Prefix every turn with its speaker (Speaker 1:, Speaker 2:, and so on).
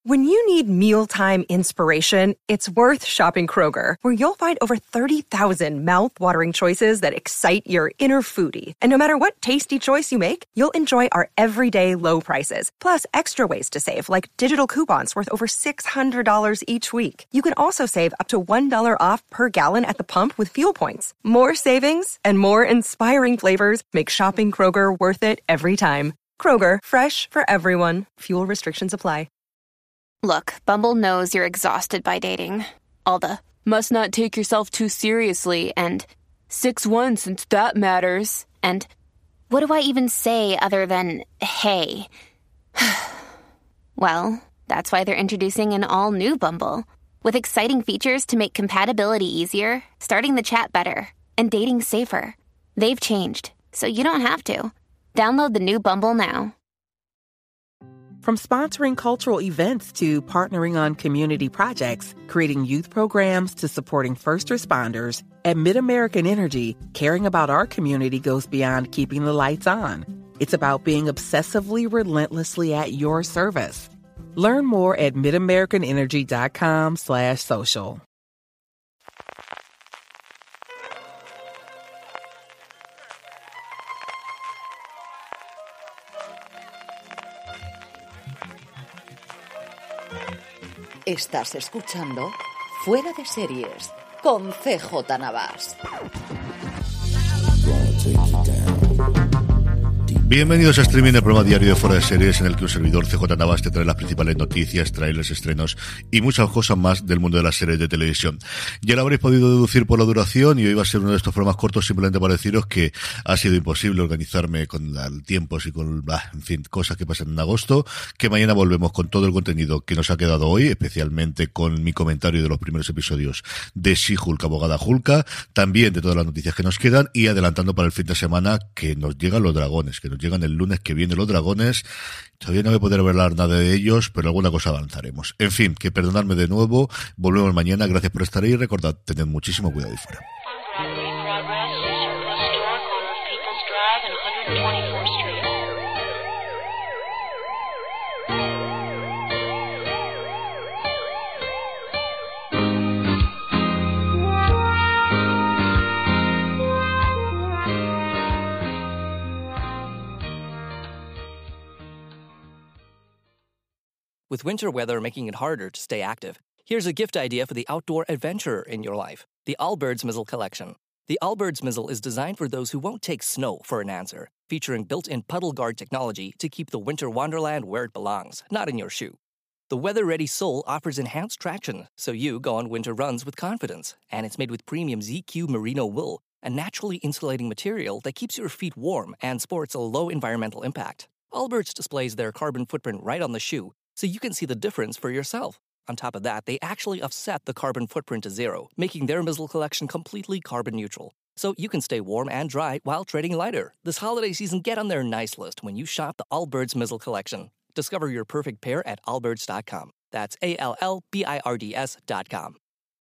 Speaker 1: When you need mealtime inspiration, it's worth shopping Kroger, where you'll find over 30,000 mouth-watering choices that excite your inner foodie. And no matter what tasty choice you make, you'll enjoy our everyday low prices, plus extra ways to save, like digital coupons worth over $600 each week. You can also save up to $1 off per gallon at the pump with fuel points. More savings and more inspiring flavors make shopping Kroger worth it every time. Kroger, fresh for everyone. Fuel restrictions apply.
Speaker 2: Look, Bumble knows you're exhausted by dating. All the, must not take yourself too seriously, and 6'1" since that matters, and what do I even say other than, hey? Well, that's why they're introducing an all-new Bumble, with exciting features to make compatibility easier, starting the chat better, and dating safer. They've changed, so you don't have to. Download the new Bumble now.
Speaker 3: From sponsoring cultural events to partnering on community projects, creating youth programs to supporting first responders, at MidAmerican Energy, caring about our community goes beyond keeping the lights on. It's about being obsessively relentlessly at your service. Learn more at midamericanenergy.com/social.
Speaker 4: Estás escuchando Fuera de Series con CJ Navas.
Speaker 5: Bienvenidos a Streaming, el programa diario de Fuera de Series, en el que un servidor, CJ Navas, te trae las principales noticias, trailers, estrenos y muchas cosas más del mundo de las series de televisión. Ya lo habréis podido deducir por la duración, y hoy va a ser uno de estos programas cortos simplemente para deciros que ha sido imposible organizarme con tiempos y con, en fin, cosas que pasan en agosto, que mañana volvemos con todo el contenido que nos ha quedado hoy, especialmente con mi comentario de los primeros episodios de She-Hulk, abogada Hulka, también de todas las noticias que nos quedan, y adelantando para el fin de semana que nos llegan los dragones, que nos llegan el lunes que viene los dragones. Todavía no voy a poder hablar nada de ellos, pero alguna cosa avanzaremos. En fin, que perdonadme de nuevo, volvemos mañana, gracias por estar ahí y recordad, tened muchísimo cuidado ahí fuera.
Speaker 6: With winter weather making it harder to stay active, here's a gift idea for the outdoor adventurer in your life. The Allbirds Mizzle Collection. The Allbirds Mizzle is designed for those who won't take snow for an answer, featuring built-in puddle guard technology to keep the winter wonderland where it belongs, not in your shoe. The weather-ready sole offers enhanced traction, so you go on winter runs with confidence. And it's made with premium ZQ merino wool, a naturally insulating material that keeps your feet warm and sports a low environmental impact. Allbirds displays their carbon footprint right on the shoe, so you can see the difference for yourself. On top of that, they actually offset the carbon footprint to zero, making their Mizzle collection completely carbon neutral. So you can stay warm and dry while trading lighter. This holiday season, get on their nice list when you shop the Allbirds Mizzle collection. Discover your perfect pair at allbirds.com. That's ALLBIRDS.com.